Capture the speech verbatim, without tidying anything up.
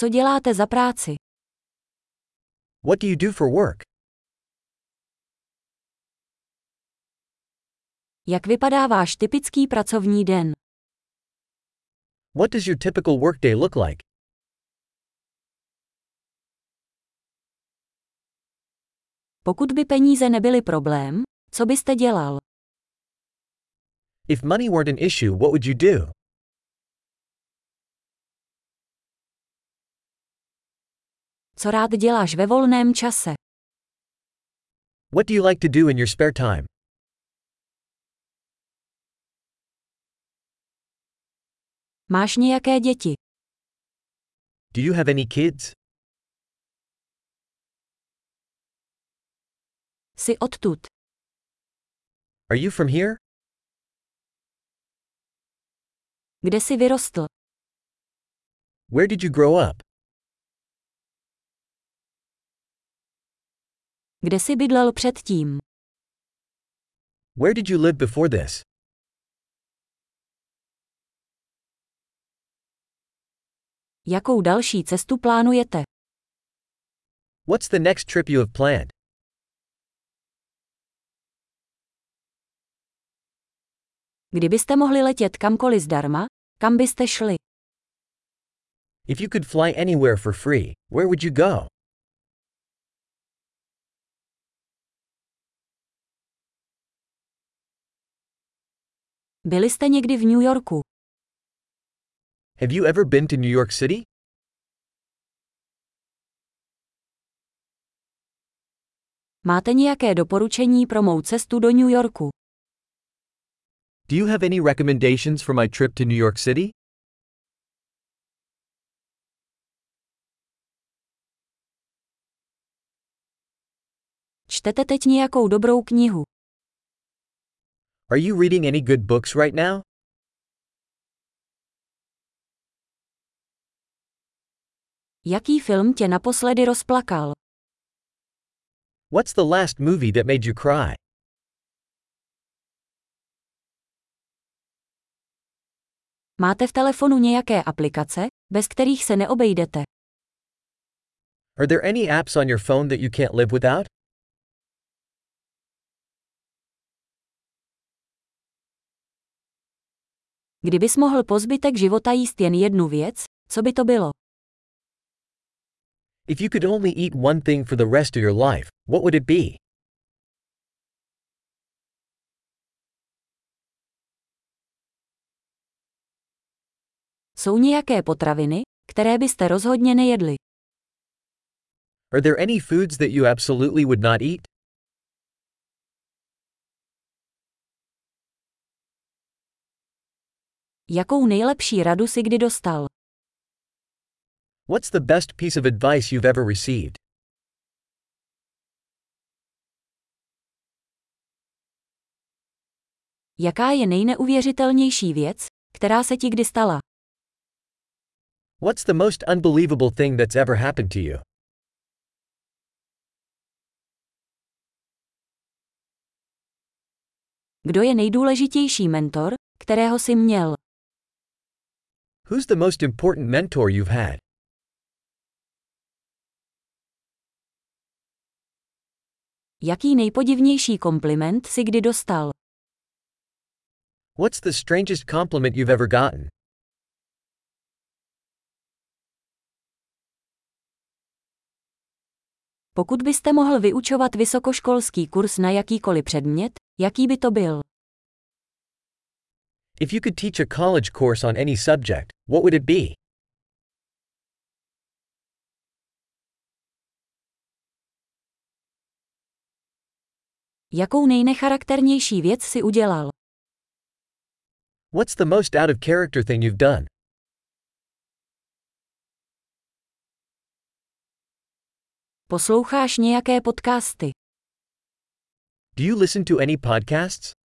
Co děláte za práci? What do you do for work? Jak vypadá váš typický pracovní den? What does your typical workday look like? Pokud by peníze nebyly problém, co byste dělal? If money weren't an issue, what would you do? Co rád děláš ve volném čase? What do you like to do in your spare time? Máš nějaké děti? Do you have any kids? Jsi odtud? Are you from here? Kde jsi vyrostl? Where did you grow up? Kde jsi bydlel předtím? Where did you live before this? Jakou další cestu plánujete? What's the next trip you have planned? Kdybyste mohli letět kamkoliv zdarma, kam byste šli? If you could fly anywhere for free, where would you go? Byli jste někdy v New Yorku? Have you ever been to New York City? Máte nějaké doporučení pro mou cestu do New Yorku? Do you have any recommendations for my trip to New York City? Čtete teď nějakou dobrou knihu? Are you reading any good books right now? Jaký film tě naposledy rozplakal? What's the last movie that made you cry? Máte v telefonu nějaké aplikace, bez kterých se neobejdete? Are there any apps on your phone that you can't live without? Kdybys mohl po zbytek života jíst jen jednu věc, co by to bylo? If you could only eat one thing for the rest of your life, what would it be? Jsou nějaké potraviny, které byste rozhodně nejedli? Are there any foods that you absolutely would not eat? Jakou nejlepší radu jsi kdy dostal? What's the best piece of advice you've ever received? Jaká je nejneuvěřitelnější věc, která se ti kdy stala? What's the most unbelievable thing that's ever happened to you? Kdo je nejdůležitější mentor, kterého jsi měl? Who's the most important mentor you've had? Jaký nejpodivnější kompliment jsi kdy dostal? What's the strangest compliment you've ever gotten? Pokud byste mohl vyučovat vysokoškolský kurz na jakýkoliv předmět, jaký by to byl? If you could teach a college course on any subject, what would it be? Jakou nejnecharakternější věc jsi udělal? What's the most out of character thing you've done? Posloucháš nějaké podcasty? Do you listen to any podcasts?